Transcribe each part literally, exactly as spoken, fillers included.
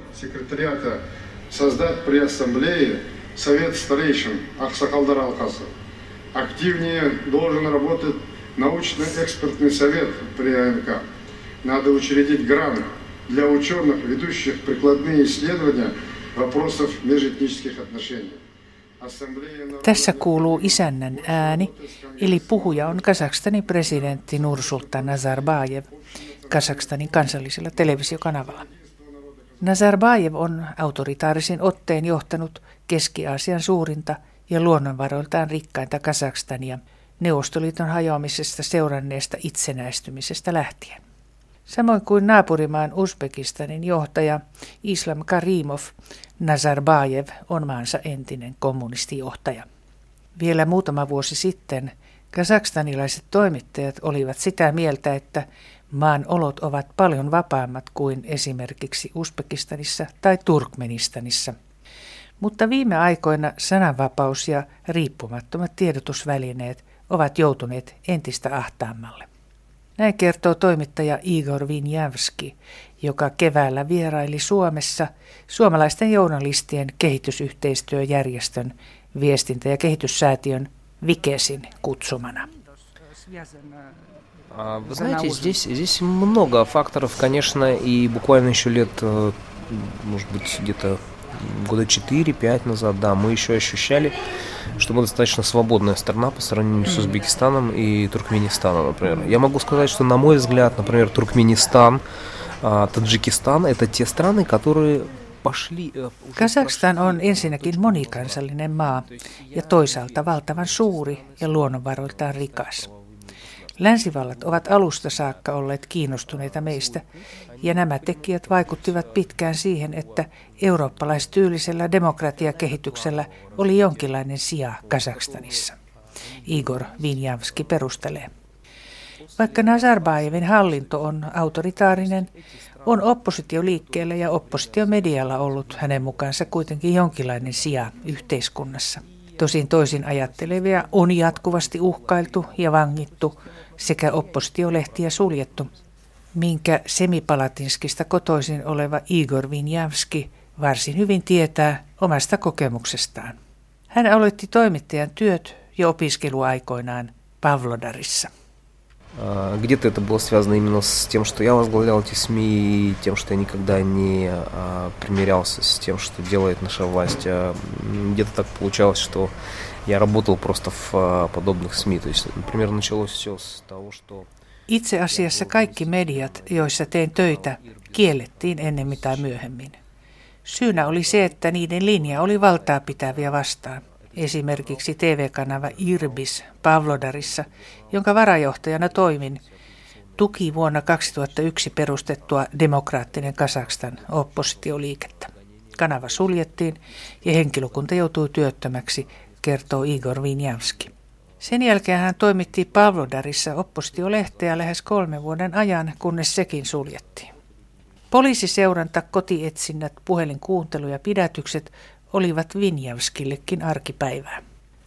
секретариата создать при ассамблее совет старейшин Аксакалдар Алкасы. Активнее должен работать научно-экспертный совет при А Н К. Надо учредить грант для ученых, ведущих прикладные исследования вопросов межэтнических отношений. Tässä kuuluu isännän ääni, eli puhuja on Kazakstanin presidentti Nursultan Nazarbayev Kazakstanin kansallisella televisiokanavalla. Nazarbayev on autoritaarisin otteen johtanut Keski-Aasian suurinta ja luonnonvaroiltaan rikkainta Kazakstania Neuvostoliiton hajoamisesta seuranneesta itsenäistymisestä lähtien. Samoin kuin naapurimaan Uzbekistanin johtaja Islam Karimov, Nazarbayev on maansa entinen kommunistijohtaja. Vielä muutama vuosi sitten kazakstanilaiset toimittajat olivat sitä mieltä, että maan olot ovat paljon vapaammat kuin esimerkiksi Uzbekistanissa tai Turkmenistanissa. Mutta viime aikoina sananvapaus ja riippumattomat tiedotusvälineet ovat joutuneet entistä ahtaammalle. Näin kertoo toimittaja Igor Vinjavski, joka keväällä vieraili Suomessa suomalaisten journalistien kehitysyhteistyöjärjestön viestintä- ja kehityssäätiön Vikesin kutsumana. Вы знаете, здесь, здесь много факторов, конечно, и буквально еще лет, может быть, где-то года четыре-пять назад, да, мы еще ощущали, что мы достаточно свободная страна по сравнению с Узбекистаном и Туркменистаном, например. Я могу сказать, что, на мой взгляд, например, Туркменистан, Таджикистан – это те страны, которые пошли... Kazakstan on ensinnäkin monikansallinen maa ja toisaalta valtavan suuri ja luonnonvaroiltaan rikas. Länsivallat ovat alusta saakka olleet kiinnostuneita meistä, ja nämä tekijät vaikuttivat pitkään siihen, että eurooppalaistyylisellä demokratiakehityksellä oli jonkinlainen sija Kazakstanissa. Igor Vinjavski perustelee. Vaikka Nazarbayevin hallinto on autoritaarinen, on oppositioliikkeellä ja oppositiomedialla ollut hänen mukaansa kuitenkin jonkinlainen sija yhteiskunnassa. Tosin toisin ajattelevia on jatkuvasti uhkailtu ja vangittu sekä oppositiolehtiä suljettu, minkä Semipalatinskista kotoisin oleva Igor Vinjavski varsin hyvin tietää omasta kokemuksestaan. Hän aloitti toimittajan työt jo opiskeluaikoinaan Pavlodarissa. Где-то это было связано именно с тем, что я возглавлял эти СМИ, и тем, что я никогда не а, примирялся с тем, что делает наша власть. А, где-то так получалось, что я работал просто в а, подобных СМИ. То есть, например, началось все с того, что... Itse asiassa kaikki mediat, joissa tein töitä, kiellettiin ennemmin tai myöhemmin. Syynä oli se, että niiden linja oli valtaa pitäviä vastaan. Esimerkiksi T V-kanava Irbis Pavlodarissa, jonka varajohtajana toimin, tuki vuonna kaksituhattayksi perustettua Demokraattinen Kazakstan oppositioliikettä. Kanava suljettiin ja henkilökunta joutui työttömäksi, kertoo Igor Vinjavski. Sen jälkeen hän toimitti Pavlodarissa oppositiolehteä lähes kolmen vuoden ajan, kunnes sekin suljettiin. Poliisiseuranta, kotietsinnät, puhelinkuuntelu ja pidätykset olivat Vinjavskillekin arkipäivää.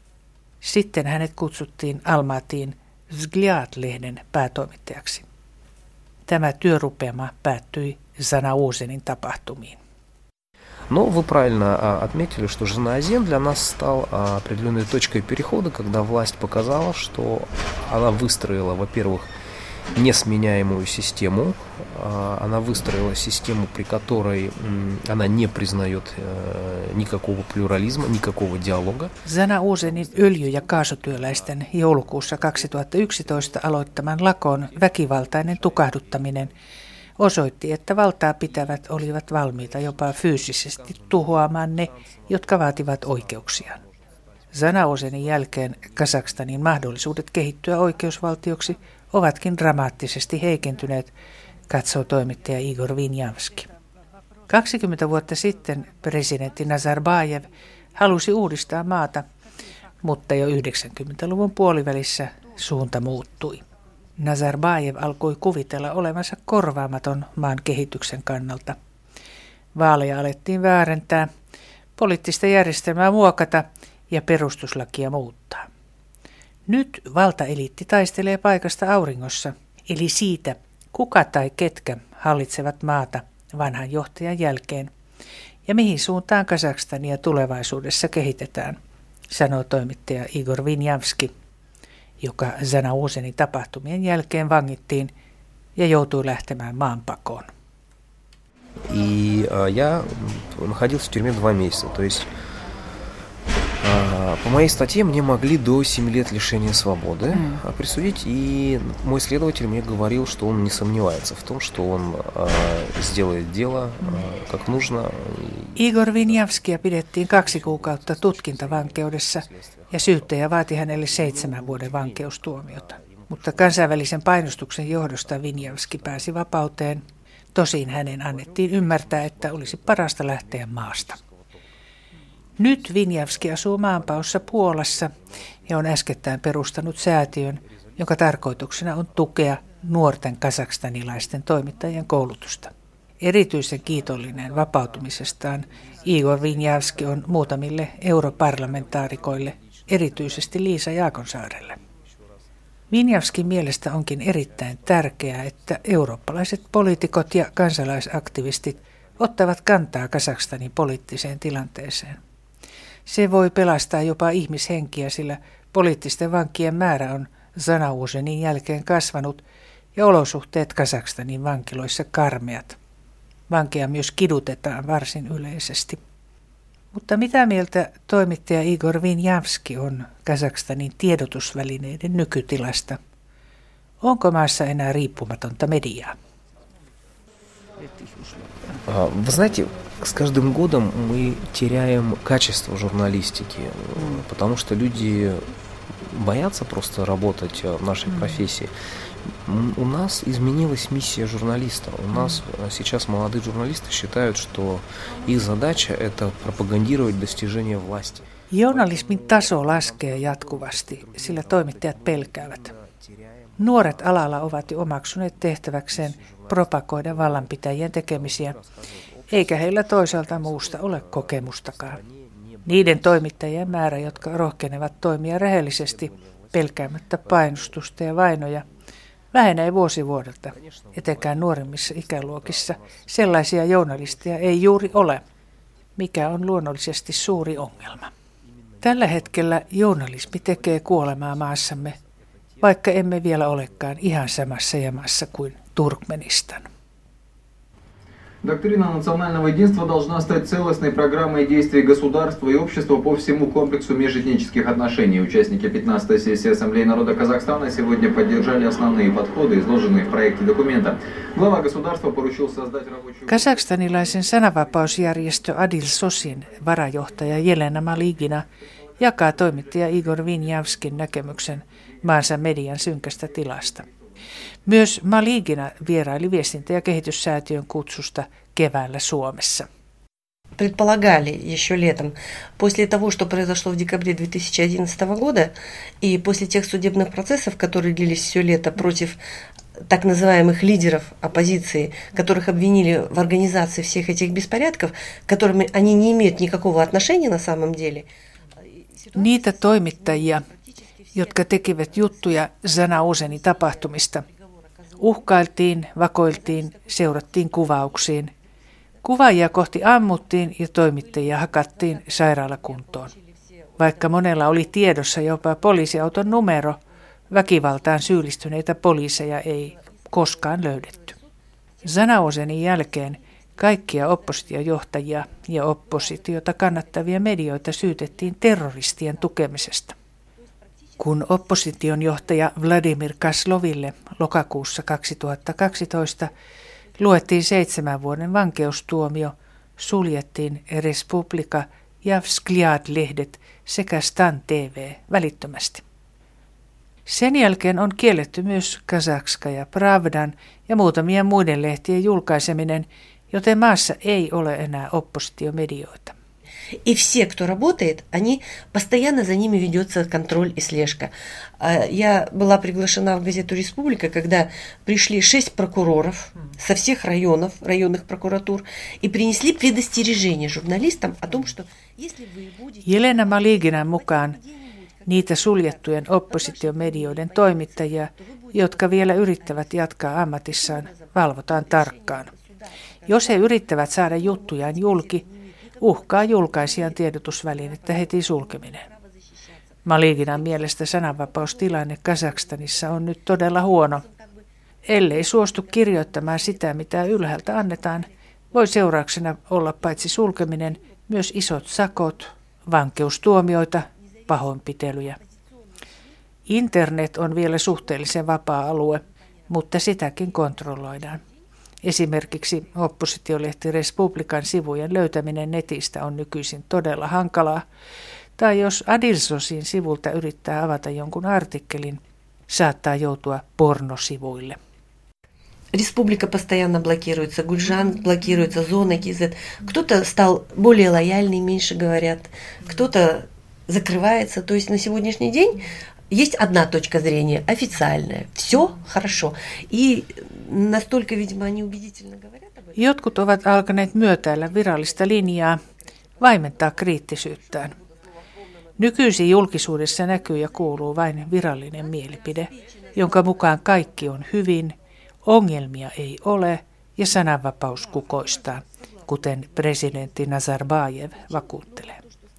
Sitten hänet kutsuttiin Almatiin Vzgljad-lehden päätoimittajaksi. Tämä työrupeama päättyi Zanauzenin tapahtumiin. Но вы правильно отметили, что Жанаозен для нас стал определенной точкой перехода, когда власть показала, что она выстроила, во-первых, несменяемую систему. Она выстроила систему, при которой она не признает никакого плюрализма, никакого диалога. Zanauzenin öljy- ja kaasutyöläisten joulukuussa kaksituhattayksitoista aloittaman lakon väkivaltainen tukahduttaminen osoitti, että valtaa pitävät olivat valmiita jopa fyysisesti tuhoamaan ne, jotka vaativat oikeuksiaan. Zanauzenin jälkeen Kazakstanin mahdollisuudet kehittyä oikeusvaltioksi ovatkin dramaattisesti heikentyneet, katsoo toimittaja Igor Vinjavski. kaksikymmentä vuotta sitten presidentti Nazarbayev halusi uudistaa maata, mutta jo yhdeksänkymmentäluvun puolivälissä suunta muuttui. Nazarbayev alkoi kuvitella olevansa korvaamaton maan kehityksen kannalta. Vaaleja alettiin väärentää, poliittista järjestelmää muokata ja perustuslakia muuttaa. Nyt valtaeliitti taistelee paikasta auringossa, eli siitä, kuka tai ketkä hallitsevat maata vanhan johtajan jälkeen, ja mihin suuntaan Kazakstania tulevaisuudessa kehitetään, sanoo toimittaja Igor Vinjavski, joka Zanaozenin tapahtumien jälkeen vangittiin ja joutui lähtemään maanpakoon. И а, я находился в тюрьме два месяца. То есть а, по моей статье мне могли до семи лет лишения свободы mm. присудить. И мой следователь мне говорил, что он не сомневается в том, что он а, сделает дело а, как нужно. Igor Vinjavskia pidettiin kaksi kuukautta tutkintavankeudessa ja syyttäjä vaati hänelle seitsemän vuoden vankeustuomiota. Mutta kansainvälisen painostuksen johdosta Vinjavski pääsi vapauteen. Tosin hänen annettiin ymmärtää, että olisi parasta lähteä maasta. Nyt Vinjavski asuu maanpaossa Puolassa ja on äskettäin perustanut säätiön, jonka tarkoituksena on tukea nuorten kazakstanilaisten toimittajien koulutusta. Erityisen kiitollinen vapautumisestaan Igor Vinjavski on muutamille europarlamentaarikoille, erityisesti Liisa Jaakonsaarelle. Vinjavskin mielestä onkin erittäin tärkeää, että eurooppalaiset poliitikot ja kansalaisaktivistit ottavat kantaa Kazakstanin poliittiseen tilanteeseen. Se voi pelastaa jopa ihmishenkiä, sillä poliittisten vankien määrä on Zanaozenin jälkeen kasvanut ja olosuhteet Kazakstanin vankiloissa karmeat. Vankeja myös kidutetaan varsin yleisesti. Mutta mitä mieltä toimittaja Igor Vinjavski on Kazakstanin tiedotusvälineiden nykytilasta? Onko maassa enää riippumatonta mediaa? Вы знаете, с каждым годом мы теряем качество журналистики, потому что люди боятся просто работать в нашей профессии. У нас изменилась миссия журналиста. У нас сейчас молодые журналисты считают, что их задача – это пропагандировать достижения власти. Journalismin taso laskee jatkuvasti, sillä toimittajat pelkäävät. Nuoret alalla ovat jo omaksuneet tehtäväkseen propagoida vallanpitäjien tekemisiä, eikä heillä toisaalta muusta ole kokemustakaan. Niiden toimittajien määrä, jotka rohkenevat toimia rehellisesti, pelkäämättä painostusta ja vainoja, vähenee vuosi vuodelta. Etenkään nuoremmissa ikäluokissa sellaisia journalisteja ei juuri ole, mikä on luonnollisesti suuri ongelma. Tällä hetkellä journalismi tekee kuolemaa maassamme, vaikka emme vielä olekaan ihan samassa jamassa kuin Turkmenistan. Доктрина национального единства должна стать целостной программой действий государства и общества по всему комплексу межэтнических отношений. Участники пятнадцатой сессии Ассамблеи народа Казахстана сегодня поддержали основные подходы, изложенные в проекте документа. Глава государства поручил создать рабочую... Kazakstanilaisen sananvapausjärjestö Adil Sosin varajohtaja Jelena Maligina jakaa toimittaja Igor Vinjavskin näkemyksen maansa median synkästä tilasta. Myös Maligina vieraili viestintä- ja kehityssäätiön kutsusta keväällä Suomessa. Предполагали еще летом, после того, что произошло в декабре две тысячи одиннадцатого года, и после тех судебных процессов, которые длились все лето против так называемых лидеров оппозиции, которых обвинили в организации всех этих беспорядков, к которым они не имеют никакого отношения на самом деле. Niitä toimittajia, jotka tekivät juttuja Zanaozenin tapahtumista, uhkailtiin, vakoiltiin, seurattiin kuvauksiin. Kuvaajia kohti ammuttiin ja toimittajia hakattiin sairaalakuntoon. Vaikka monella oli tiedossa jopa poliisiauton numero, väkivaltaan syyllistyneitä poliiseja ei koskaan löydetty. Zanaozenin jälkeen kaikkia oppositiojohtajia ja oppositiota kannattavia medioita syytettiin terroristien tukemisesta. Kun opposition johtaja Vladimir Kasloville lokakuussa kaksituhattakaksitoista luettiin seitsemän vuoden vankeustuomio, suljettiin Respublika ja Vzglyad-lehdet sekä Stan T V välittömästi. Sen jälkeen on kielletty myös Kazakskaja Pravdan ja muutamien muiden lehtien julkaiseminen, joten maassa ei ole enää oppositiomedioita. И все, кто работает, они, постоянно за ними ведется контроль и слежка. Я была приглашена в газету «Республика», когда пришли шесть прокуроров со всех районов, районных прокуратур, и принесли предостережение журналистам о том, что если вы будете... Jelena Maliginan mukaan niitä suljettujen oppositiomedioiden toimittajia, jotka vielä yrittävät jatkaa ammatissaan, valvotaan tarkkaan. Jos he yrittävät saada juttujaan julki, uhkaa julkaisijan tiedotusvälinettä heti sulkeminen. Maliginan mielestä sananvapaustilanne Kazakstanissa on nyt todella huono. Ellei suostu kirjoittamaan sitä, mitä ylhäältä annetaan, voi seurauksena olla paitsi sulkeminen, myös isot sakot, vankeustuomioita, pahoinpitelyjä. Internet on vielä suhteellisen vapaa-alue, mutta sitäkin kontrolloidaan. Esimerkiksi oppositiolehti Respublikan sivujen löytäminen netistä on nykyisin todella hankalaa, tai jos Adilsosin sivulta yrittää avata jonkun artikkelin, saattaa joutua pornosivuille. Республика постоянно блокируется, Гульжан блокируется, зона КЗ. Кто-то стал более лояльный, меньше говорят, кто-то закрывается. То есть на сегодняшний день есть одна точка зрения, официальная. Все хорошо. И настолько, видимо, они убедительно говорят об этом. Jotkut ovat alkaneet myötäillä virallista linjaa, vaimentaa kriittisyyttään. Nykyisin julkisuudessa näkyy ja kuuluu vain virallinen mielipide, jonka mukaan kaikki on hyvin, ongelmia ei ole ja sananvapaus kukoistaa, kuten presidentti Nazarbayev vakuuttelee.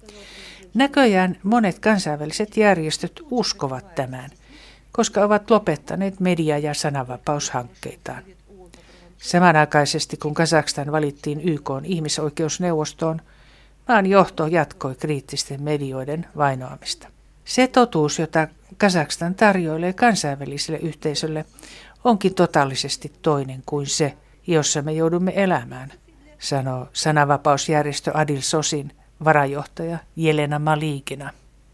Näköjään monet kansainväliset järjestöt uskovat tämän, koska ovat lopettaneet media- ja sananvapaushankkeitaan. Samanaikaisesti kun Kazakstan valittiin Y K:n ihmisoikeusneuvostoon, maan johto jatkoi kriittisten medioiden vainoamista. Se totuus, jota Kazakstan tarjoilee kansainväliselle yhteisölle, onkin totaalisesti toinen kuin se, jossa me joudumme elämään, sanoo sananvapausjärjestö Adilsosin varajohtaja Jelena Maligina.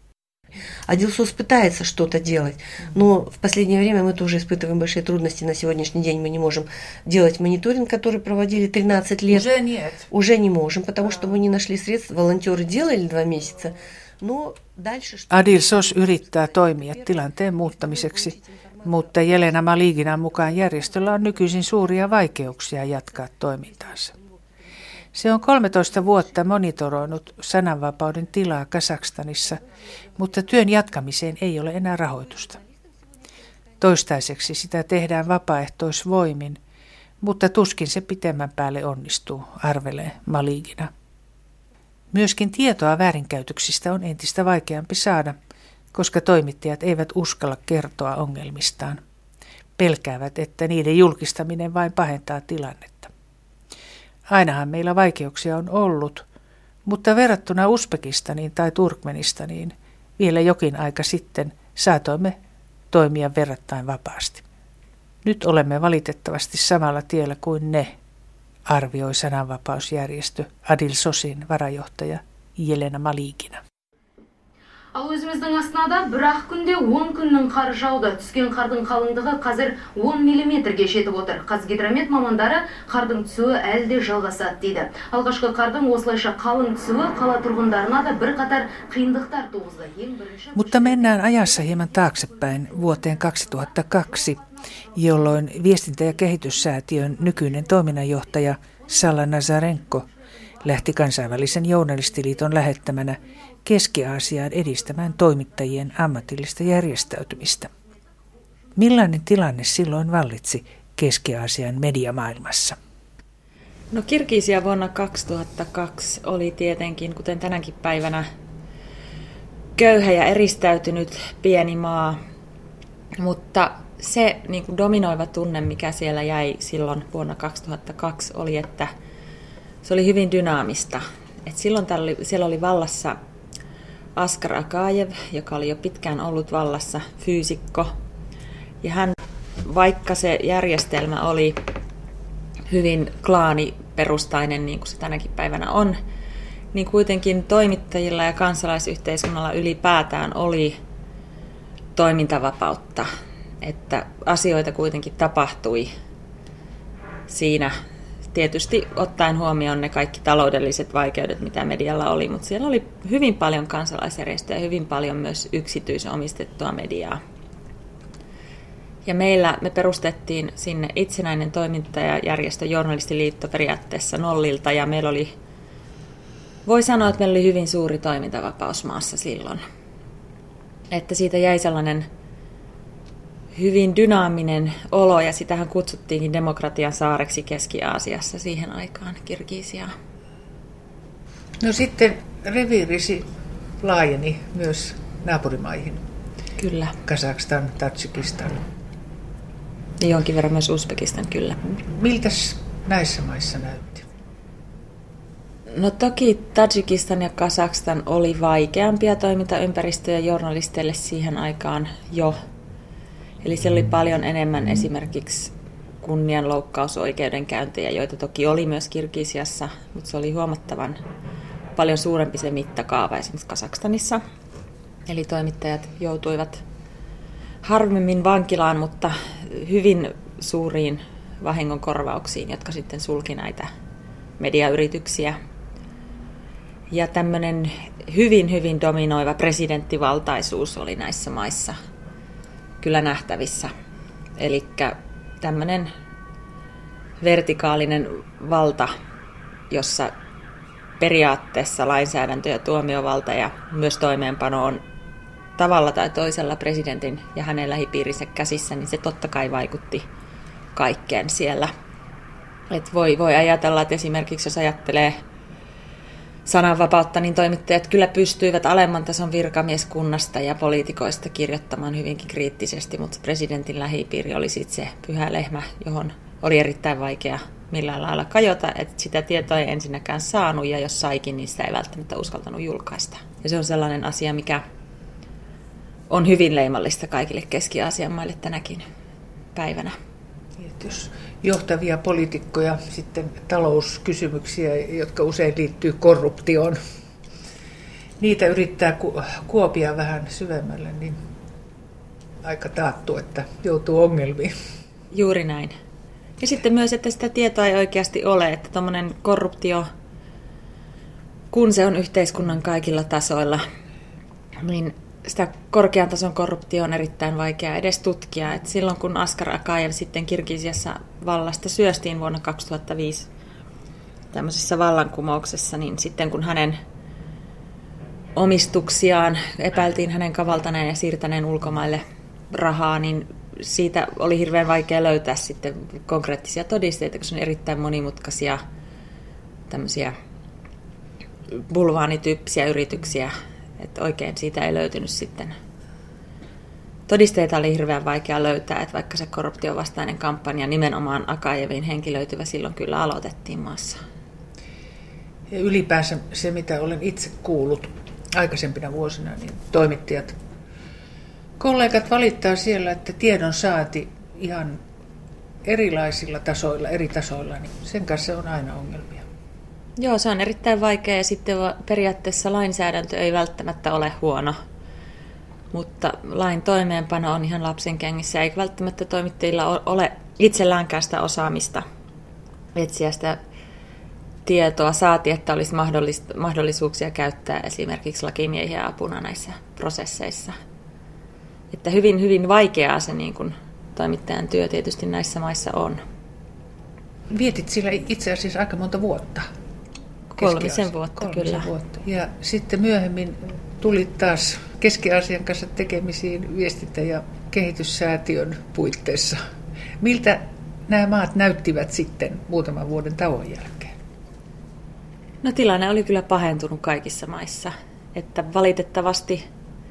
Адилсос пытается что-то делать, но в последнее время мы тоже испытываем большие трудности. На сегодняшний день мы не можем делать мониторинг, который проводили тринадцать лет. Уже нет. Уже не можем, потому что мы не нашли средств. Волонтеры делали два месяца, но дальше... Adilsos yrittää toimia tilanteen muuttamiseksi, mutta Jelena Maliginan mukaan järjestöllä on nykyisin suuria vaikeuksia jatkaa toimintaansa. Se on kolmetoista vuotta monitoroinut sananvapauden tilaa Kazakstanissa, mutta työn jatkamiseen ei ole enää rahoitusta. Toistaiseksi sitä tehdään vapaaehtoisvoimin, mutta tuskin se pitemmän päälle onnistuu, arvelee Maligina. Myöskin tietoa väärinkäytöksistä on entistä vaikeampi saada, koska toimittajat eivät uskalla kertoa ongelmistaan. Pelkäävät, että niiden julkistaminen vain pahentaa tilannetta. Ainahan meillä vaikeuksia on ollut, mutta verrattuna Uzbekistaniin tai Turkmenistaniin vielä jokin aika sitten saatoimme toimia verrattain vapaasti. Nyt olemme valitettavasti samalla tiellä kuin ne, arvioi sananvapausjärjestö Adilsosin varajohtaja Jelena Maligina. Ал өзіміздің астанада бір-ақ күнде он күннің қары жауды. Түскен қардың қалыңдығы қазір он миллиметрге жетіп отыр. Қазгидромет мамандары қардың түсуі әлі де жалғасады дейді. Алғашқы қардың осылайша қалың түсуі қала тұрғындарына да бір қатар қиындықтар туғызды. Ең бірінші... Mutta mennään ajassa hieman taaksepäin vuoteen kaksituhattakaksi, jolloin viestintä- ja kehityssäätiön nykyinen toiminnanjohtaja Salla Nazarenko lähti kansainvälisen journalistiliiton lähettämänä Keski-Aasiaan edistämään toimittajien ammatillista järjestäytymistä. Millainen tilanne silloin vallitsi Keski-Aasian mediamaailmassa? No Kirgisia vuonna kaksituhattakaksi oli tietenkin, kuten tänäkin päivänä, köyhä ja eristäytynyt pieni maa, mutta se niin kuin dominoiva tunne, mikä siellä jäi silloin vuonna kaksituhattakaksi, oli, että se oli hyvin dynaamista. Et silloin oli, siellä oli vallassa Askar Akajev, joka oli jo pitkään ollut vallassa, fyysikko. Ja hän, vaikka se järjestelmä oli hyvin klaaniperustainen, niin kuin se tänäkin päivänä on, niin kuitenkin toimittajilla ja kansalaisyhteiskunnalla ylipäätään oli toimintavapautta. Että asioita kuitenkin tapahtui siinä. Tietysti ottaen huomioon ne kaikki taloudelliset vaikeudet, mitä medialla oli, mutta siellä oli hyvin paljon kansalaisjärjestöjä ja hyvin paljon myös yksityisomistettua mediaa. Ja meillä me perustettiin sinne itsenäinen toimintajajärjestö Journalistiliitto periaatteessa nollilta, ja meillä oli, voi sanoa, että meillä oli hyvin suuri toimintavapaus maassa silloin. Että siitä jäi sellainen hyvin dynaaminen olo, ja sitähän kutsuttiinkin demokratian saareksi Keski-Aasiassa siihen aikaan, Kirgisiaa. No sitten reviirisi laajeni myös naapurimaihin. Kyllä. Kazakstan, Tadžikistan. Ja jonkin verran myös Uzbekistan, kyllä. Miltäs näissä maissa näytti? No toki Tadžikistan ja Kazakstan oli vaikeampia toimintaympäristöjä journalisteille siihen aikaan jo. Eli siellä oli paljon enemmän esimerkiksi kunnianloukkausoikeudenkäyntejä, joita toki oli myös Kirgisiassa, mutta se oli huomattavan paljon suurempi se mittakaava esimerkiksi Kazakstanissa. Eli toimittajat joutuivat harvemmin vankilaan, mutta hyvin suuriin vahingonkorvauksiin, jotka sitten sulki näitä mediayrityksiä. Ja tämmöinen hyvin, hyvin dominoiva presidenttivaltaisuus oli näissä maissa kyllä nähtävissä. Eli tämmöinen vertikaalinen valta, jossa periaatteessa lainsäädäntö ja tuomiovalta ja myös toimeenpano on tavalla tai toisella presidentin ja hänen lähipiirinsä käsissä, niin se totta kai vaikutti kaikkeen siellä. Et voi, voi ajatella, että esimerkiksi jos ajattelee sananvapautta, niin toimittajat kyllä pystyivät alemman tason virkamieskunnasta ja poliitikoista kirjoittamaan hyvinkin kriittisesti, mutta presidentin lähipiiri oli sitten se pyhä lehmä, johon oli erittäin vaikea millään lailla kajota, että sitä tietoa ei ensinnäkään saanut, ja jos saikin, niin sitä ei välttämättä uskaltanut julkaista. Ja se on sellainen asia, mikä on hyvin leimallista kaikille Keski-Aasian maille tänäkin päivänä. Jos johtavia poliitikkoja, sitten talouskysymyksiä, jotka usein liittyy korruptioon, niitä yrittää ku- kuopia vähän syvemmälle, niin aika taattu, että joutuu ongelmiin. Juuri näin. Ja sitten myös, että sitä tietoa ei oikeasti ole, että tuommoinen korruptio, kun se on yhteiskunnan kaikilla tasoilla, niin sitä korkean tason korruptio on erittäin vaikea edes tutkia. Et silloin kun Askar Akajev sitten Kirgisiassa vallasta syöstiin vuonna kaksituhattaviisi tämmöisessä vallankumouksessa, niin sitten kun hänen omistuksiaan epäiltiin hänen kavaltaneen ja siirtäneen ulkomaille rahaa, niin siitä oli hirveän vaikea löytää sitten konkreettisia todisteita, koska on erittäin monimutkaisia tämmöisiä bulvaanityyppisiä yrityksiä, että oikein siitä ei löytynyt sitten. Todisteita oli hirveän vaikea löytää, että vaikka se korruptiovastainen kampanja nimenomaan Akajevin henkilöityvä silloin kyllä aloitettiin maassa. Ja ylipäänsä se, mitä olen itse kuullut aikaisempina vuosina, niin toimittajat, kollegat valittaa siellä, että tiedon saati ihan erilaisilla tasoilla, eri tasoilla, niin sen kanssa on aina ongelmia. Joo, se on erittäin vaikea, ja sitten periaatteessa lainsäädäntö ei välttämättä ole huono, mutta lain toimeenpano on ihan lapsen kengissä, eikä välttämättä toimittajilla ole itselläänkään sitä osaamista etsiä sitä tietoa, saati, että olisi mahdollisuuksia käyttää esimerkiksi lakimiehiä apuna näissä prosesseissa. Että hyvin, hyvin vaikeaa se niin kuin toimittajan työ tietysti näissä maissa on. Vietit sillä itse asiassa aika monta vuotta. Kolmisen vuotta, Kolmisen kyllä. Vuotta. Ja sitten myöhemmin tulit taas Keski-Aasian kanssa tekemisiin viestintä- ja kehityssäätiön puitteissa. Miltä nämä maat näyttivät sitten muutaman vuoden tauon jälkeen? No tilanne oli kyllä pahentunut kaikissa maissa. Että valitettavasti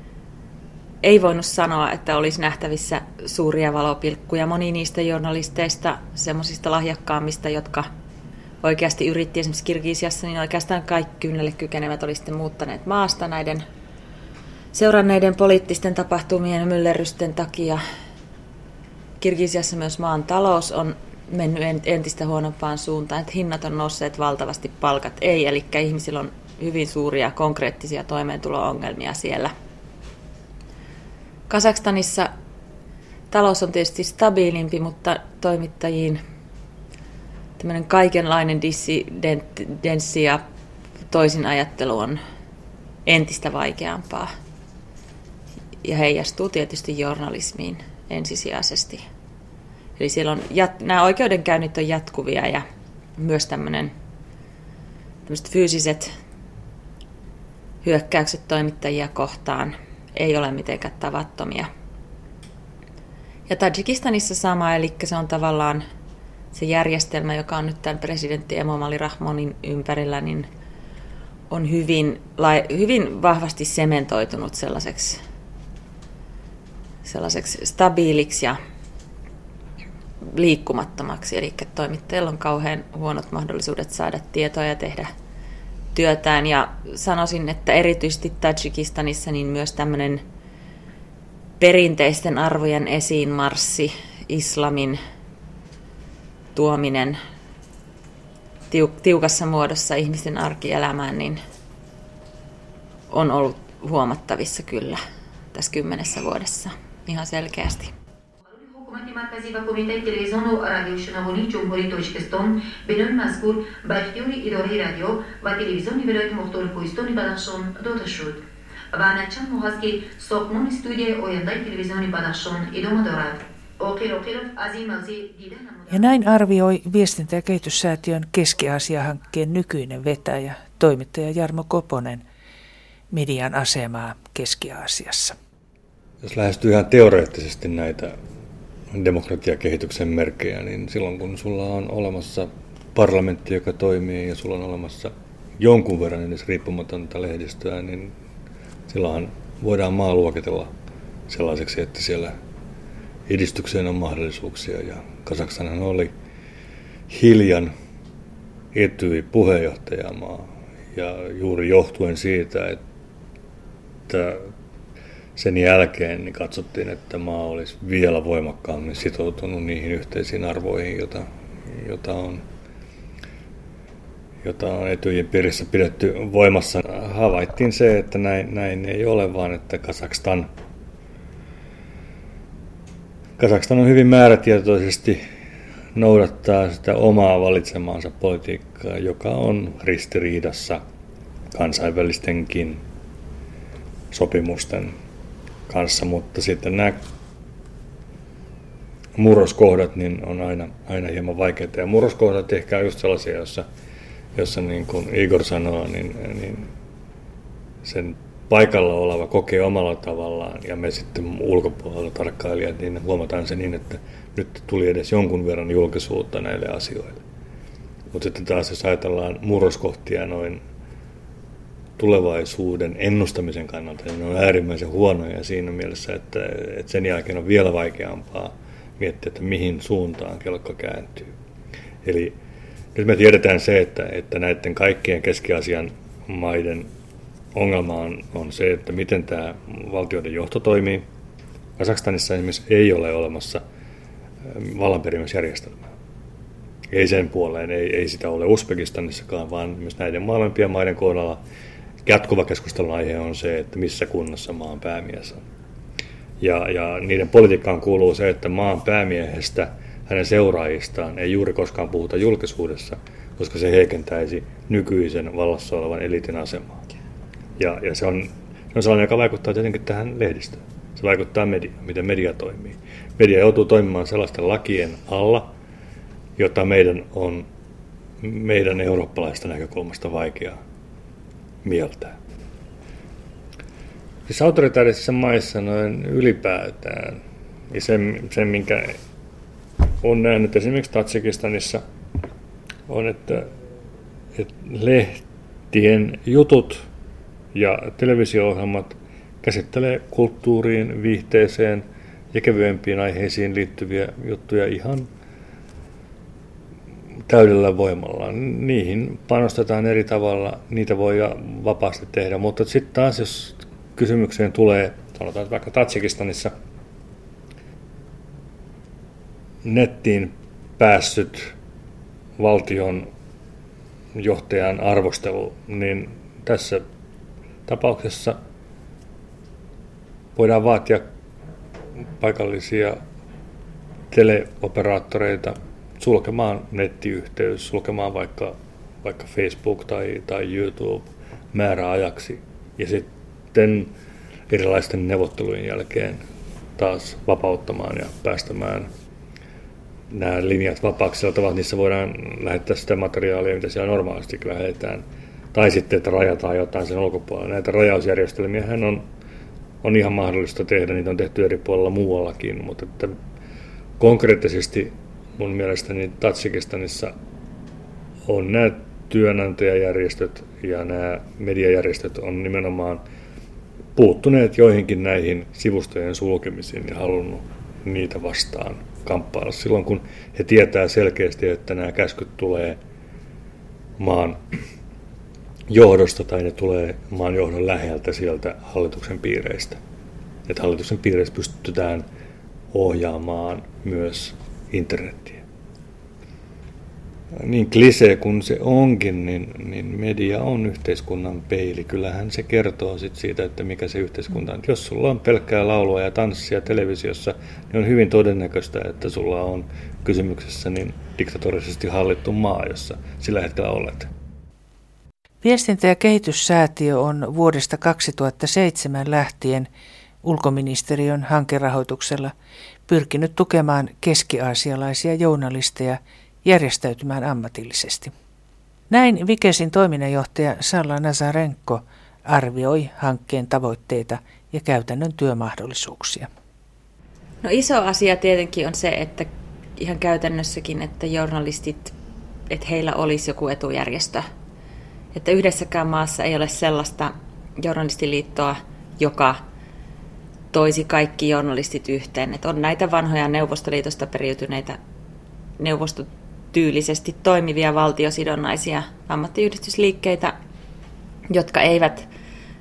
ei voinut sanoa, että olisi nähtävissä suuria valopilkkuja. Moni niistä journalisteista, semmoisista lahjakkaammista, jotka oikeasti yritti esimerkiksi Kirgisiassa, niin oikeastaan kaikki kynnelle kykenevät oli sitten muuttaneet maasta näiden seuranneiden poliittisten tapahtumien ja myllerrysten takia. Kirgisiassa myös maan talous on mennyt entistä huonompaan suuntaan, että hinnat on nousseet valtavasti, palkat ei, eli ihmisillä on hyvin suuria konkreettisia toimeentulo-ongelmia siellä. Kazakstanissa talous on tietysti stabiilimpi, mutta toimittajiin tämmöinen kaikenlainen dissidenssi ja toisin ajattelu on entistä vaikeampaa ja heijastuu tietysti journalismiin ensisijaisesti. Eli siellä on jat- nämä oikeudenkäynnit on jatkuvia ja myös tämmöinen, tämmöiset fyysiset hyökkäykset toimittajia kohtaan ei ole mitenkään tavattomia. Ja Tadžikistanissa sama, eli se on tavallaan se järjestelmä, joka on nyt tämän presidentti Emomali Rahmonin ympärillä, niin on hyvin, hyvin vahvasti sementoitunut sellaiseksi, sellaiseksi stabiiliksi ja liikkumattomaksi. Eli toimittajilla on kauhean huonot mahdollisuudet saada tietoa ja tehdä työtään. Ja sanoisin, että erityisesti Tadžikistanissa niin myös tämmöinen perinteisten arvojen esiinmarssi, islamin tuominen tiukassa muodossa ihmisten arkielämään, niin on ollut huomattavissa kyllä tässä kymmenessä vuodessa ihan selkeästi. حکومت مرکزی و کمیته تلویزیون و رادیوشنوانی جمهوری تاجیکستان بنای مذکور به اختیار اداره رادیو و تلویزیون ولایت مختار کوهستان بدخشان داده شد و چند ماه است که ساختمان استودیوی آینده تلویزیون بدخشان ادامه دارد. Ja näin arvioi Viestintä- ja kehityssäätiön Keski-Aasia-hankkeen nykyinen vetäjä, toimittaja Jarmo Koponen, median asemaa Keski-Aasiassa. Jos lähestyy ihan teoreettisesti näitä demokratiakehityksen merkkejä, niin silloin kun sulla on olemassa parlamentti, joka toimii, ja sulla on olemassa jonkun verran edes riippumatonta lehdistöä, niin silloinhan voidaan maa luokitella sellaiseksi, että siellä edistykseen on mahdollisuuksia. Ja Kazakstanhan oli hiljan Etyj puheenjohtajamaa, ja juuri johtuen siitä, että sen jälkeen niin katsottiin, että maa olisi vielä voimakkaammin sitoutunut niihin yhteisiin arvoihin, jota, jota on, jota on Etyjin piirissä pidetty voimassa. Havaittiin se, että näin, näin ei ole, vaan että Kazakstan, Kazakstan on hyvin määrätietoisesti noudattaa sitä omaa valitsemaansa politiikkaa, joka on ristiriidassa kansainvälistenkin sopimusten kanssa, mutta sitten nämä murroskohdat niin on aina, aina hieman vaikeita. Ja murroskohdat ehkä on just sellaisia, jossa, jossa niin kuin Igor sanoo, niin, niin sen paikalla oleva kokee omalla tavallaan, ja me sitten ulkopuolella tarkkailijat, niin huomataan se niin, että nyt tuli edes jonkun verran julkisuutta näille asioille. Mutta sitten taas jos ajatellaan murroskohtia noin tulevaisuuden ennustamisen kannalta, niin ne on äärimmäisen huonoja siinä mielessä, että, että sen jälkeen on vielä vaikeampaa miettiä, että mihin suuntaan kelkka kääntyy. Eli nyt me tiedetään se, että, että näiden kaikkien Keski-Aasian maiden ongelma on, on se, että miten tämä valtioiden johto toimii. Kazakstanissa esimerkiksi ei ole olemassa vallanperimisjärjestelmää. Ei sen puoleen, ei, ei sitä ole Uzbekistanissakaan, vaan myös näiden molempien maiden kohdalla jatkuva keskustelun aihe on se, että missä kunnossa maan päämies on. Ja, ja niiden politiikkaan kuuluu se, että maan päämiehestä, hänen seuraajistaan ei juuri koskaan puhuta julkisuudessa, koska se heikentäisi nykyisen vallassa olevan eliitin asemaa. Ja, ja se, on, se on sellainen, joka vaikuttaa tietenkin tähän lehdistöön. Se vaikuttaa mediaan, miten media toimii. Media joutuu toimimaan sellaisten lakien alla, jota meidän on meidän eurooppalaisesta näkökulmasta vaikea mieltää. Siis autoritaarisissa maissa noin ylipäätään, ja sen, sen minkä olen nähnyt esimerkiksi Tadžikistanissa, on, että, että lehtien jutut ja televisio-ohjelmat käsittelee kulttuuriin, viihteeseen ja kevyempiin aiheisiin liittyviä juttuja ihan täydellä voimalla. Niihin panostetaan eri tavalla, niitä voi vapaasti tehdä, mutta sitten taas jos kysymykseen tulee, sanotaan että vaikka Tadžikistanissa nettiin päässyt valtion johtajan arvostelu, niin tässä tapauksessa voidaan vaatia paikallisia teleoperaattoreita sulkemaan nettiyhteys, sulkemaan vaikka, vaikka Facebook tai, tai YouTube määräajaksi ja sitten erilaisten neuvottelujen jälkeen taas vapauttamaan ja päästämään nämä linjat vapaaksi sillä tavalla, että niissä voidaan lähettää sitä materiaalia, mitä siellä normaalisti lähetetään, tai sitten, että rajataan jotain sen ulkopuolella. Näitä rajausjärjestelmiähän on, on ihan mahdollista tehdä, niitä on tehty eri puolilla muuallakin, mutta että Konkreettisesti mun mielestäni Tadžikistanissa on nämä työnantajajärjestöt ja nämä mediajärjestöt on nimenomaan puuttuneet joihinkin näihin sivustojen sulkemisiin ja halunnut niitä vastaan kamppailla silloin, kun he tietää selkeästi, että nämä käskyt tulee maan johdosta tai ne tulee maan johdon läheltä sieltä hallituksen piireistä. Että hallituksen piireissä pystytään ohjaamaan myös internetiä. Niin klisee kuin se onkin, niin, niin media on yhteiskunnan peili. Kyllähän se kertoo sit siitä, että mikä se yhteiskunta on. Jos sulla on pelkkää laulua ja tanssia televisiossa, niin on hyvin todennäköistä, että sulla on kysymyksessä niin diktatorisesti hallittu maa, jossa sillä hetkellä olet. Viestintä- ja kehityssäätiö on vuodesta kaksituhattaseitsemän lähtien ulkoministeriön hankerahoituksella pyrkinyt tukemaan keski-aasialaisia journalisteja järjestäytymään ammatillisesti. Näin Vikesin toiminnanjohtaja Salla Nazarenko arvioi hankkeen tavoitteita ja käytännön työmahdollisuuksia. No iso asia tietenkin on se, että ihan käytännössäkin, että journalistit, että heillä olisi joku etujärjestö. Että yhdessäkään maassa ei ole sellaista journalistiliittoa, joka toisi kaikki journalistit yhteen. Että on näitä vanhoja Neuvostoliitosta periytyneitä neuvostotyylisesti toimivia valtiosidonnaisia ammattiyhdistysliikkeitä, jotka eivät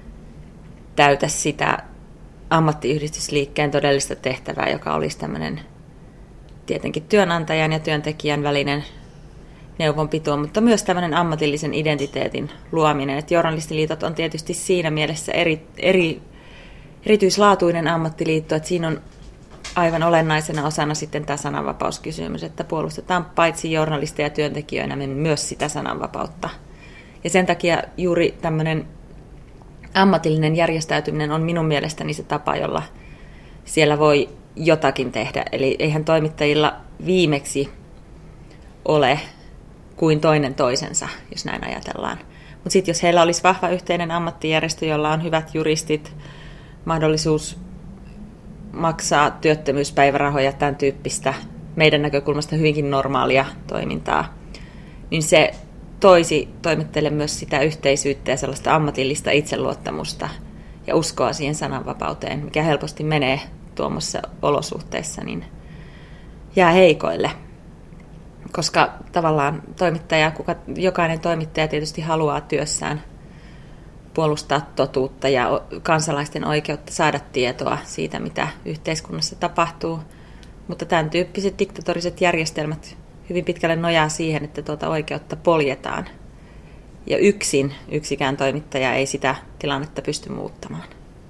täytä sitä ammattiyhdistysliikkeen todellista tehtävää, joka olisi tämmöinen tietenkin työnantajan ja työntekijän välinen neuvonpito, mutta myös tämmöinen ammatillisen identiteetin luominen. Että journalistiliitot on tietysti siinä mielessä eri, eri, erityislaatuinen ammattiliitto, että siinä on aivan olennaisena osana sitten tämä sananvapauskysymys, että puolustetaan paitsi journalisteja ja työntekijöinä myös sitä sananvapautta. Ja sen takia juuri tämmöinen ammatillinen järjestäytyminen on minun mielestäni se tapa, jolla siellä voi jotakin tehdä. Eli eihän toimittajilla viimeksi ole kuin toinen toisensa, jos näin ajatellaan. Mutta sitten jos heillä olisi vahva yhteinen ammattijärjestö, jolla on hyvät juristit, mahdollisuus maksaa työttömyyspäivärahoja, tämän tyyppistä meidän näkökulmasta hyvinkin normaalia toimintaa, niin se toisi toimittajille myös sitä yhteisyyttä ja sellaista ammatillista itseluottamusta ja uskoa siihen sananvapauteen, mikä helposti menee tuommoisissa olosuhteissa, niin jää heikoille. Koska tavallaan toimittaja, kuka, jokainen toimittaja tietysti haluaa työssään puolustaa totuutta ja kansalaisten oikeutta saada tietoa siitä, mitä yhteiskunnassa tapahtuu. Mutta tämän tyyppiset diktatoriset järjestelmät hyvin pitkälle nojaa siihen, että tuota oikeutta poljetaan. Ja yksin yksikään toimittaja ei sitä tilannetta pysty muuttamaan.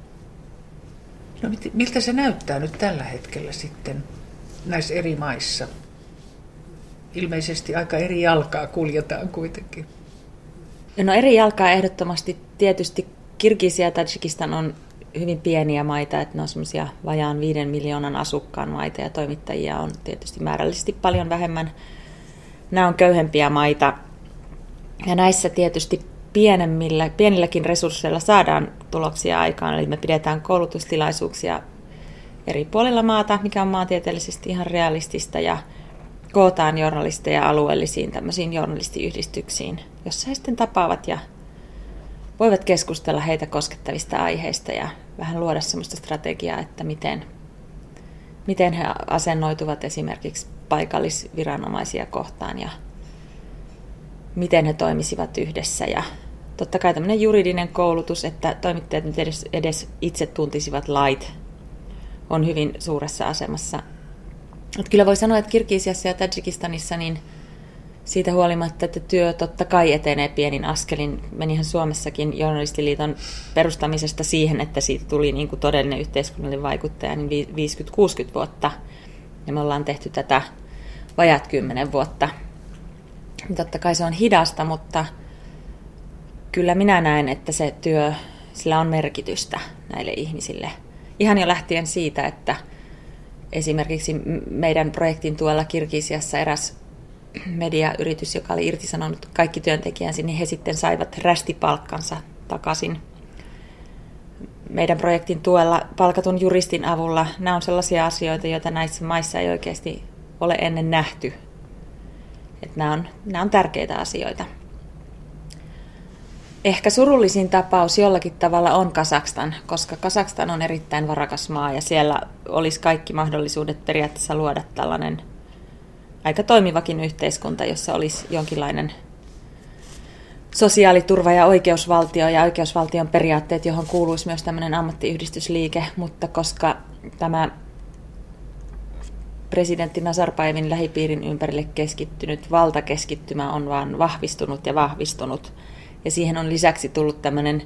No, miltä se näyttää nyt tällä hetkellä sitten näissä eri maissa? Ilmeisesti aika eri jalkaa kuljetaan kuitenkin. No eri jalkaa ehdottomasti. Tietysti Kirgisia ja Tadžikistan on hyvin pieniä maita, että ne on semmoisia vajaan viiden miljoonan asukkaan maita ja toimittajia on tietysti määrällisesti paljon vähemmän. Nämä on köyhempiä maita ja näissä tietysti pienemmillä, pienilläkin resursseilla saadaan tuloksia aikaan. Eli me pidetään koulutustilaisuuksia eri puolilla maata, mikä on maantieteellisesti ihan realistista ja kootaan journalisteja alueellisiin tämmöisiin journalistiyhdistyksiin, jossa he sitten tapaavat ja voivat keskustella heitä koskettavista aiheista ja vähän luoda semmoista strategiaa, että miten, miten he asennoituvat esimerkiksi paikallisviranomaisia kohtaan ja miten he toimisivat yhdessä. Ja totta kai tämmöinen juridinen koulutus, että toimittajat nyt edes, edes itse tuntisivat lait, on hyvin suuressa asemassa. Mutta kyllä voi sanoa, että Kirgisiassa ja Tadžikistanissa niin siitä huolimatta, että työ totta kai etenee pienin askelin. Menihän Suomessakin Journalistiliiton perustamisesta siihen, että siitä tuli niin kuin todellinen yhteiskunnallinen vaikuttaja niin viisikymmentä kuusikymmentä vuotta. Ja me ollaan tehty tätä vajat kymmenen vuotta. Totta kai se on hidasta, mutta kyllä minä näen, että se työ, sillä on merkitystä näille ihmisille. Ihan jo lähtien siitä, että esimerkiksi meidän projektin tuolla Kirgisiassa eräs mediayritys, joka oli irtisanonut kaikki työntekijänsä, niin he sitten saivat rästipalkkansa takaisin meidän projektin tuella palkatun juristin avulla. Nämä on sellaisia asioita, joita näissä maissa ei oikeasti ole ennen nähty. Että nämä on, nämä on tärkeitä asioita. Ehkä surullisin tapaus jollakin tavalla on Kazakstan, koska Kazakstan on erittäin varakas maa ja siellä olisi kaikki mahdollisuudet periaatteessa luoda tällainen aika toimivakin yhteiskunta, jossa olisi jonkinlainen sosiaaliturva ja oikeusvaltio ja oikeusvaltion periaatteet, johon kuuluisi myös tämmöinen ammattiyhdistysliike, mutta koska tämä presidentti Nazarbayevin lähipiirin ympärille keskittynyt valtakeskittymä on vaan vahvistunut ja vahvistunut, ja siihen on lisäksi tullut tämmöinen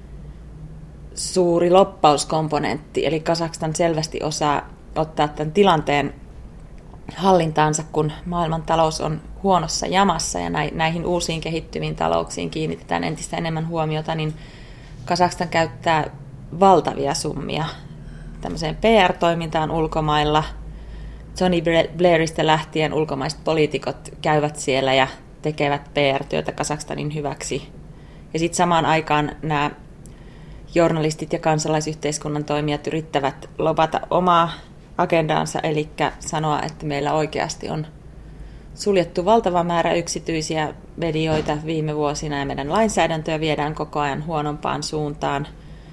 suuri loppauskomponentti, eli Kazakstan selvästi osaa ottaa tämän tilanteen hallintaansa, kun maailman talous on huonossa jamassa ja näihin uusiin kehittyviin talouksiin kiinnitetään entistä enemmän huomiota, niin Kazakstan käyttää valtavia summia tämmöiseen P R-toimintaan ulkomailla. Tony Blairista lähtien ulkomaiset poliitikot käyvät siellä ja tekevät P R-työtä Kazakstanin hyväksi. Ja sitten samaan aikaan nämä journalistit ja kansalaisyhteiskunnan toimijat yrittävät lobata omaa agendaansa, eli sanoa, että meillä oikeasti on suljettu valtava määrä yksityisiä medioita viime vuosina ja meidän lainsäädäntöä viedään koko ajan huonompaan suuntaan.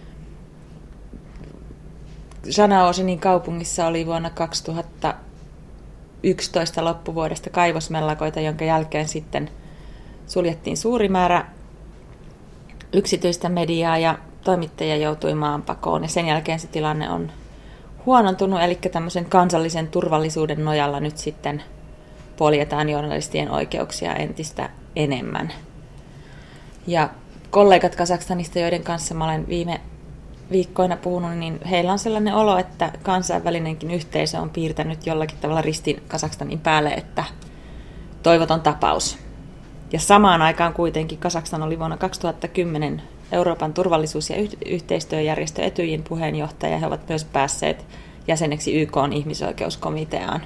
Zhanaozenin kaupungissa oli vuonna kaksituhattayksitoista loppuvuodesta kaivosmellakoita, jonka jälkeen sitten suljettiin suuri määrä yksityistä mediaa ja toimittajia joutui maanpakoon. Ja sen jälkeen se tilanne on huonontunut, eli tämmöisen kansallisen turvallisuuden nojalla nyt sitten poljetaan journalistien oikeuksia entistä enemmän. Ja kollegat Kazakstanista, joiden kanssa mä olen viime viikkoina puhunut, niin heillä on sellainen olo, että kansainvälinenkin yhteisö on piirtänyt jollakin tavalla ristin Kazakstanin päälle, että toivoton tapaus. Ja samaan aikaan kuitenkin Kazakstan oli vuonna kaksituhattakymmenen Euroopan turvallisuus- ja yhteistyöjärjestö Etyjin puheenjohtaja. He ovat myös päässeet jäseneksi Y K:n ihmisoikeuskomiteaan.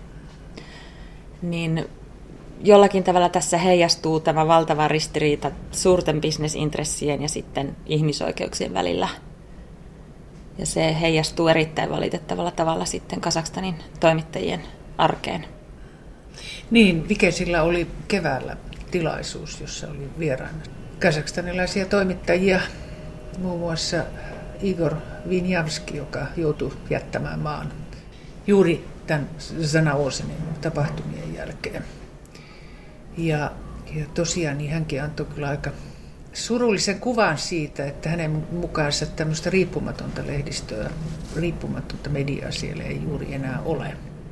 Niin jollakin tavalla tässä heijastuu tämä valtava ristiriita suurten bisnesintressien ja sitten ihmisoikeuksien välillä. Ja se heijastuu erittäin valitettavalla tavalla sitten Kazakstanin toimittajien arkeen. Niin, Vikesillä oli keväällä tilaisuus, jossa oli vieraana kazakstanilaisia toimittajia, muun muassa Igor Vinjavski, joka joutui jättämään maan juuri tämän Zhanaozenin tapahtumien jälkeen. Ja, ja tosiaan niin hänkin antoi kyllä aika surullisen kuvan siitä, että hänen mukaansa tämmöistä riippumatonta lehdistöä, riippumatonta mediaa siellä ei juuri enää ole.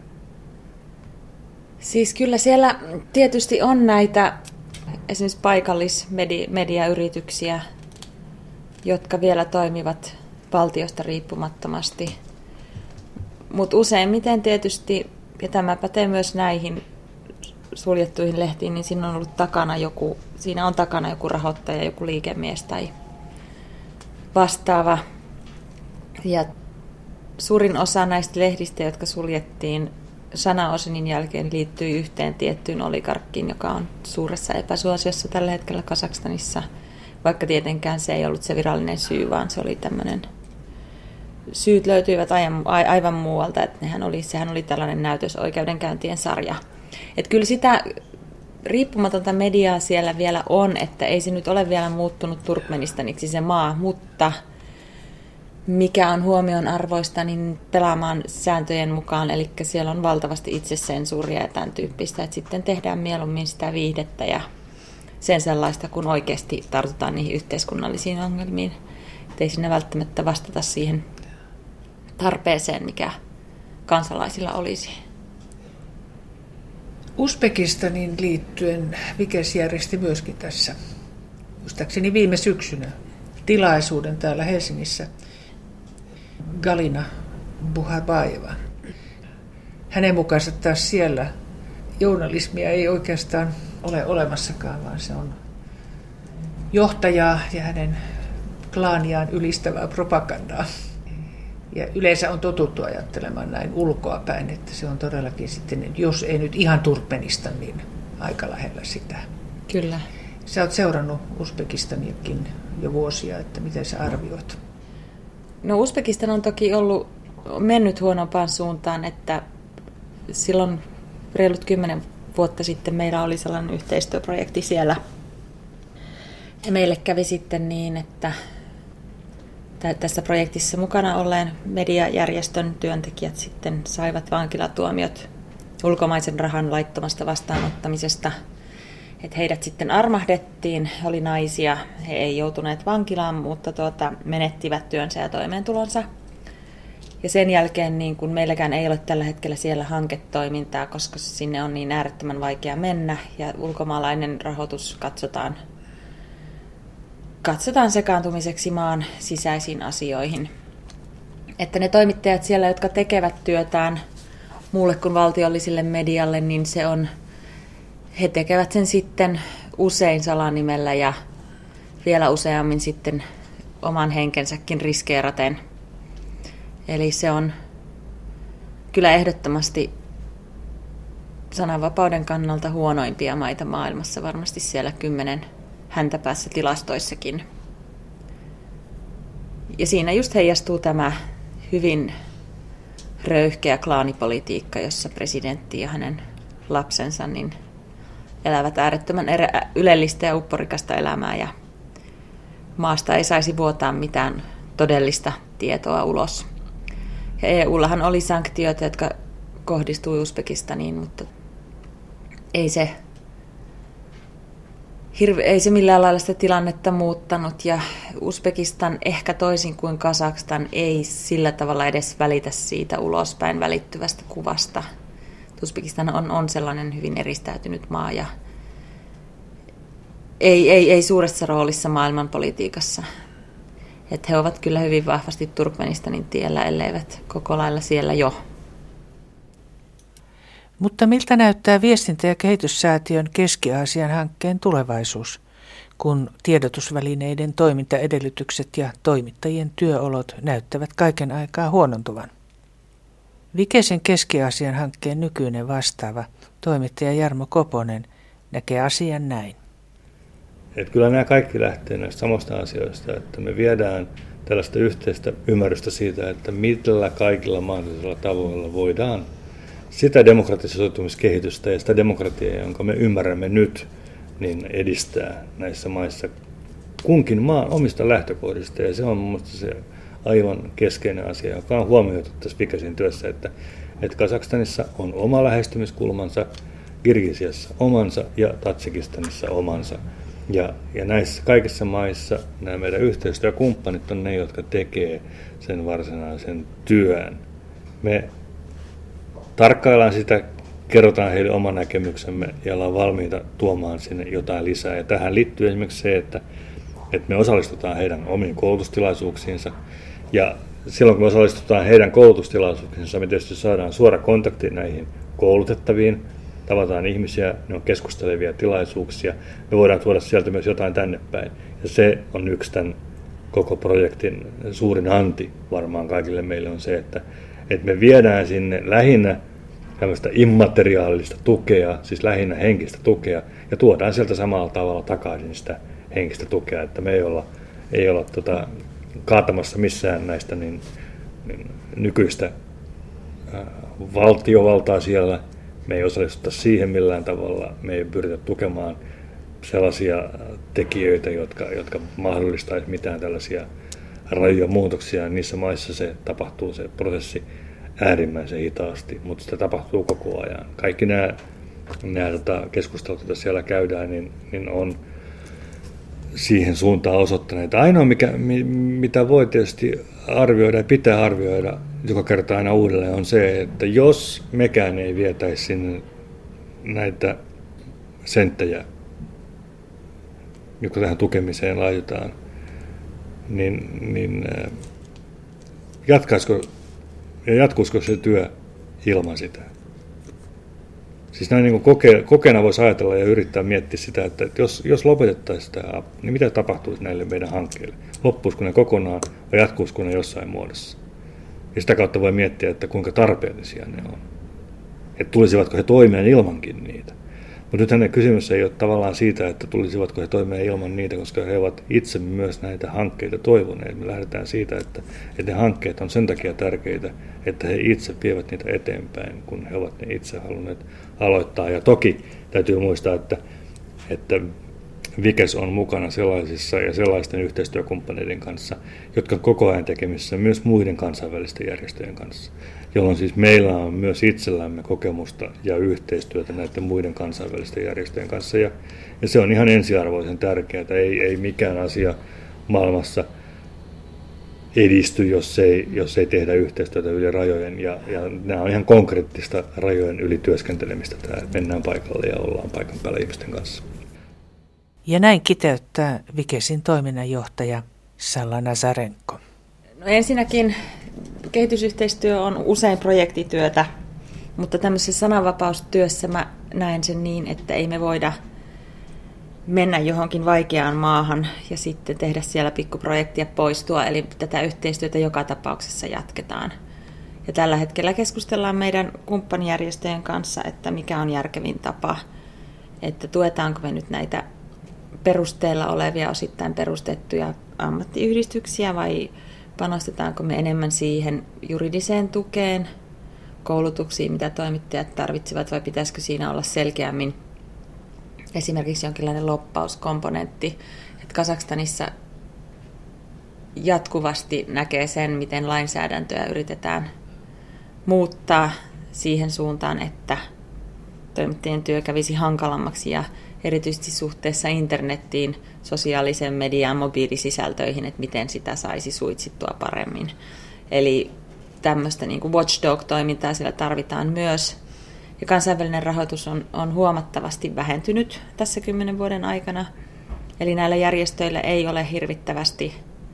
Siis kyllä siellä tietysti on näitä esimerkiksi paikallismediayrityksiä, jotka vielä toimivat valtiosta riippumattomasti. Mutta useimmiten tietysti, ja tämä pätee myös näihin suljettuihin lehtiin, niin siinä on ollut takana joku, siinä on takana joku rahoittaja, joku liikemies tai vastaava. Ja suurin osa näistä lehdistä, jotka suljettiin Zhanaozenin jälkeen, liittyi yhteen tiettyyn oligarkkiin, joka on suuressa epäsuosiossa tällä hetkellä Kazakstanissa, vaikka tietenkään se ei ollut se virallinen syy, vaan se oli tämmöinen, syyt löytyivät aivan muualta, että nehän oli, sehän oli tällainen näytösoikeudenkäyntien sarja. Että kyllä sitä riippumatonta mediaa siellä vielä on, että ei se nyt ole vielä muuttunut Turkmenistaniksi se maa, mutta mikä on huomionarvoista, niin pelaamaan sääntöjen mukaan, eli siellä on valtavasti itsesensuuria ja tämän tyyppistä, että sitten tehdään mieluummin sitä viihdettä ja sen sellaista, kun oikeasti tartutaan niihin yhteiskunnallisiin ongelmiin. Et ei siinä välttämättä vastata siihen tarpeeseen, mikä kansalaisilla olisi. Uzbekistaniin liittyen Vikes järjesti myöskin tässä, muistaakseni viime syksynä, tilaisuuden täällä Helsingissä. Galina Buharbayeva. Hänen mukaansa taas siellä journalismia ei oikeastaan ole olemassakaan, vaan se on johtajaa ja hänen klaaniaan ylistävää propagandaa. Ja yleensä on totuttu ajattelemaan näin ulkoapäin, että se on todellakin sitten, jos ei nyt ihan Turkmenistan, niin aika lähellä sitä. Kyllä. Sä oot seurannut Uzbekistaniakin jo vuosia, että miten sä arvioit? No Uzbekistan on toki ollut mennyt huonompaan suuntaan, että silloin reilut kymmenen vuotta sitten meillä oli sellainen yhteistyöprojekti siellä. Ja meille kävi sitten niin, että tässä projektissa mukana olleen mediajärjestön työntekijät sitten saivat vankilatuomiot ulkomaisen rahan laittomasta vastaanottamisesta. Että heidät sitten armahdettiin, he oli naisia, he ei joutuneet vankilaan, mutta tuota, menettivät työnsä ja toimeentulonsa. Ja sen jälkeen niin kun meilläkään ei ole tällä hetkellä siellä hanketoimintaa, koska sinne on niin äärettömän vaikea mennä ja ulkomaalainen rahoitus katsotaan, katsotaan sekaantumiseksi maan sisäisiin asioihin. Että ne toimittajat siellä, jotka tekevät työtään muulle kuin valtiolliselle medialle, niin se on, he tekevät sen sitten usein salanimellä ja vielä useammin sitten oman henkensäkin riskeeraten. Eli se on kyllä ehdottomasti sananvapauden kannalta huonoimpia maita maailmassa, varmasti siellä kymmenen häntäpäässä tilastoissakin. Ja siinä just heijastuu tämä hyvin röyhkeä klaanipolitiikka, jossa presidentti ja hänen lapsensa niin elävät äärettömän ylellistä ja upporikasta elämää ja maasta ei saisi vuotaa mitään todellista tietoa ulos. Ja E U:llahan oli sanktioita, jotka kohdistui Uzbekistaniin, mutta ei se, hirve, ei se millään lailla sitä tilannetta muuttanut. Ja Uzbekistan ehkä toisin kuin Kazakstan ei sillä tavalla edes välitä siitä ulospäin välittyvästä kuvasta. Uzbekistan on, on sellainen hyvin eristäytynyt maa ja ei, ei, ei suuressa roolissa maailmanpolitiikassa. Että he ovat kyllä hyvin vahvasti Turkmenistanin tiellä, elleivät koko lailla siellä jo. Mutta miltä näyttää viestintä- ja kehityssäätiön Keski-Aasian hankkeen tulevaisuus, kun tiedotusvälineiden toimintaedellytykset ja toimittajien työolot näyttävät kaiken aikaa huonontuvan? Vikesen Keski-Aasian hankkeen nykyinen vastaava toimittaja Jarmo Koponen näkee asian näin. Että kyllä nämä kaikki lähtee näistä samasta asioista, että me viedään tällaista yhteistä ymmärrystä siitä, että millä kaikilla mahdollisilla tavoilla voidaan sitä demokratisoitumiskehitystä ja sitä demokratiaa, jonka me ymmärrämme nyt, niin edistää näissä maissa kunkin maan omista lähtökohdista. Ja se on mun mielestä se aivan keskeinen asia, joka on huomioitu tässä Vikesin työssä, että, että Kazakstanissa on oma lähestymiskulmansa, Kirgisiassa omansa ja Tatsikistanissa omansa. Ja, ja näissä kaikissa maissa nämä meidän yhteistyökumppanit on ne, jotka tekee sen varsinaisen työn. Me tarkkaillaan sitä, kerrotaan heille oma näkemyksemme ja ollaan valmiita tuomaan sinne jotain lisää. Ja tähän liittyy esimerkiksi se, että, että me osallistutaan heidän omiin koulutustilaisuuksiinsa. Ja silloin kun me osallistutaan heidän koulutustilaisuuksiinsa, me tietysti saadaan suora kontakti näihin koulutettaviin. Tavataan ihmisiä, ne on keskustelevia tilaisuuksia. Me voidaan tuoda sieltä myös jotain tänne päin. Ja se on yksi tämän koko projektin suurin anti varmaan kaikille meille on se, että, että me viedään sinne lähinnä tämmöistä immateriaalista tukea, siis lähinnä henkistä tukea, ja tuodaan sieltä samalla tavalla takaisin sitä henkistä tukea, että me ei olla, ei olla tota, kaatamassa missään näistä niin, niin nykyistä äh, valtiovaltaa siellä. Me ei osallistuta siihen millään tavalla, me ei pyritä tukemaan sellaisia tekijöitä, jotka, jotka mahdollistaisivat mitään tällaisia rajuja muutoksia. Niissä maissa se tapahtuu se prosessi äärimmäisen hitaasti, mutta sitä tapahtuu koko ajan. Kaikki nämä, nämä tota, keskustelut, joita siellä käydään, niin, niin on siihen suuntaan osoittaneet. Ainoa, mikä, mitä voi tietysti arvioida ja pitää arvioida joka kerta aina uudelleen, on se, että jos mekään ei vietäisi sinne näitä senttejä, jotka tähän tukemiseen laitetaan, niin, niin jatkaisiko ja jatkuisiko se työ ilman sitä? Siis näin niin koke, kokeena voisi ajatella ja yrittää miettiä sitä, että jos, jos lopetettaisiin tämä, niin mitä tapahtuisi näille meidän hankkeille? Loppuisiko ne kokonaan vai jatkuisiko ne jossain muodossa? Ja sitä kautta voi miettiä, että kuinka tarpeellisia ne on. Että tulisivatko he toimeen ilmankin niitä. Mutta Mutta nythän kysymys ei ole tavallaan siitä, että tulisivatko he toimeen ilman niitä, koska he ovat itse myös näitä hankkeita toivoneet. Me lähdetään siitä, että, että ne hankkeet on sen takia tärkeitä, että he itse vievät niitä eteenpäin, kun he ovat ne itse halunneet aloittaa. Ja toki täytyy muistaa, että, että Vikes on mukana sellaisissa ja sellaisten yhteistyökumppaneiden kanssa, jotka koko ajan tekemissä myös muiden kansainvälisten järjestöjen kanssa, jolloin siis meillä on myös itsellämme kokemusta ja yhteistyötä näiden muiden kansainvälisten järjestöjen kanssa. Ja, ja se on ihan ensiarvoisen tärkeää, ei, ei mikään asia maailmassa edisty, jos ei, jos ei tehdä yhteistyötä yli rajojen. Ja, ja nämä on ihan konkreettista rajojen yli työskentelemistä, että mennään paikalle ja ollaan paikan päällä ihmisten kanssa. Ja näin kiteyttää Vikesin toiminnanjohtaja Salla Nazarenko. No ensinnäkin kehitysyhteistyö on usein projektityötä, mutta tämmöisessä sananvapaustyössä mä näen sen niin, että ei me voida mennä johonkin vaikeaan maahan ja sitten tehdä siellä pikkuprojektia poistua, eli tätä yhteistyötä joka tapauksessa jatketaan. Ja tällä hetkellä keskustellaan meidän kumppanijärjestöjen kanssa, että mikä on järkevin tapa, että tuetaanko me nyt näitä perusteella olevia osittain perustettuja ammattiyhdistyksiä vai panostetaanko me enemmän siihen juridiseen tukeen, koulutuksiin, mitä toimittajat tarvitsevat, vai pitäisikö siinä olla selkeämmin esimerkiksi jonkinlainen lobbauskomponentti. Että Kazakstanissa jatkuvasti näkee sen, miten lainsäädäntöä yritetään muuttaa siihen suuntaan, että toimittajien työ kävisi hankalammaksi ja erityisesti suhteessa internettiin, sosiaaliseen mediaan, mobiilisisältöihin, että miten sitä saisi suitsittua paremmin. Eli tämmöistä niin kuin watchdog-toimintaa siellä tarvitaan myös. Ja kansainvälinen rahoitus on, on huomattavasti vähentynyt tässä kymmenen vuoden aikana. Eli näillä järjestöillä ei ole hirvittävästi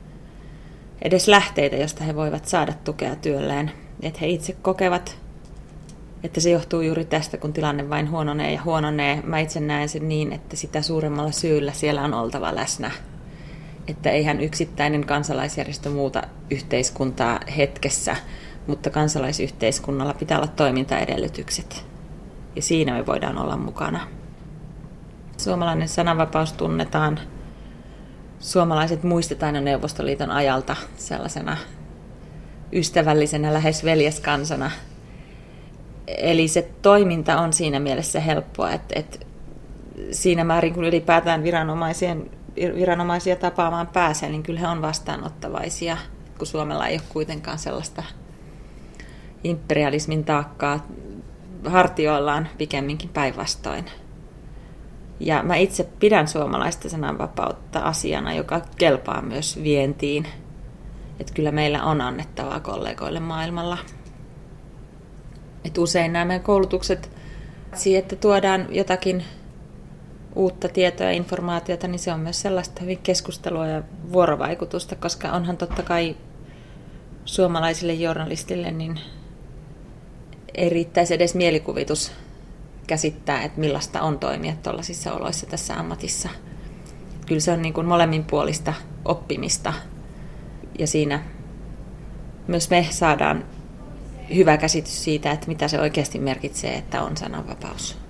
edes lähteitä, josta he voivat saada tukea työlleen. Että he itse kokevat, että se johtuu juuri tästä, kun tilanne vain huononee ja huononee. Mä itse näen sen niin, että sitä suuremmalla syyllä siellä on oltava läsnä. Että eihän yksittäinen kansalaisjärjestö muuta yhteiskuntaa hetkessä, mutta kansalaisyhteiskunnalla pitää olla toimintaedellytykset. Ja siinä me voidaan olla mukana. Suomalainen sananvapaus tunnetaan. Suomalaiset muistetaan jo Neuvostoliiton ajalta sellaisena ystävällisenä, lähes veljeskansana. Eli se toiminta on siinä mielessä helppoa, että, että siinä määrin kun ylipäätään viranomaisien, viranomaisia tapaamaan pääsee, niin kyllä he on vastaanottavaisia, kun Suomella ei ole kuitenkaan sellaista imperialismin taakkaa hartioillaan, pikemminkin päinvastoin. Ja mä itse pidän suomalaista sananvapautta asiana, joka kelpaa myös vientiin. Että kyllä meillä on annettavaa kollegoille maailmalla. Et usein nämä meidän koulutukset, että tuodaan jotakin uutta tietoa ja informaatiota, niin se on myös sellaista hyvin keskustelua ja vuorovaikutusta, koska onhan totta kai suomalaisille journalistille niin ei riittäisi edes mielikuvitus käsittää, että millaista on toimia tuollaisissa oloissa tässä ammatissa. Kyllä se on niin kuin molemminpuolista oppimista ja siinä myös me saadaan hyvä käsitys siitä, että mitä se oikeasti merkitsee, että on sananvapaus.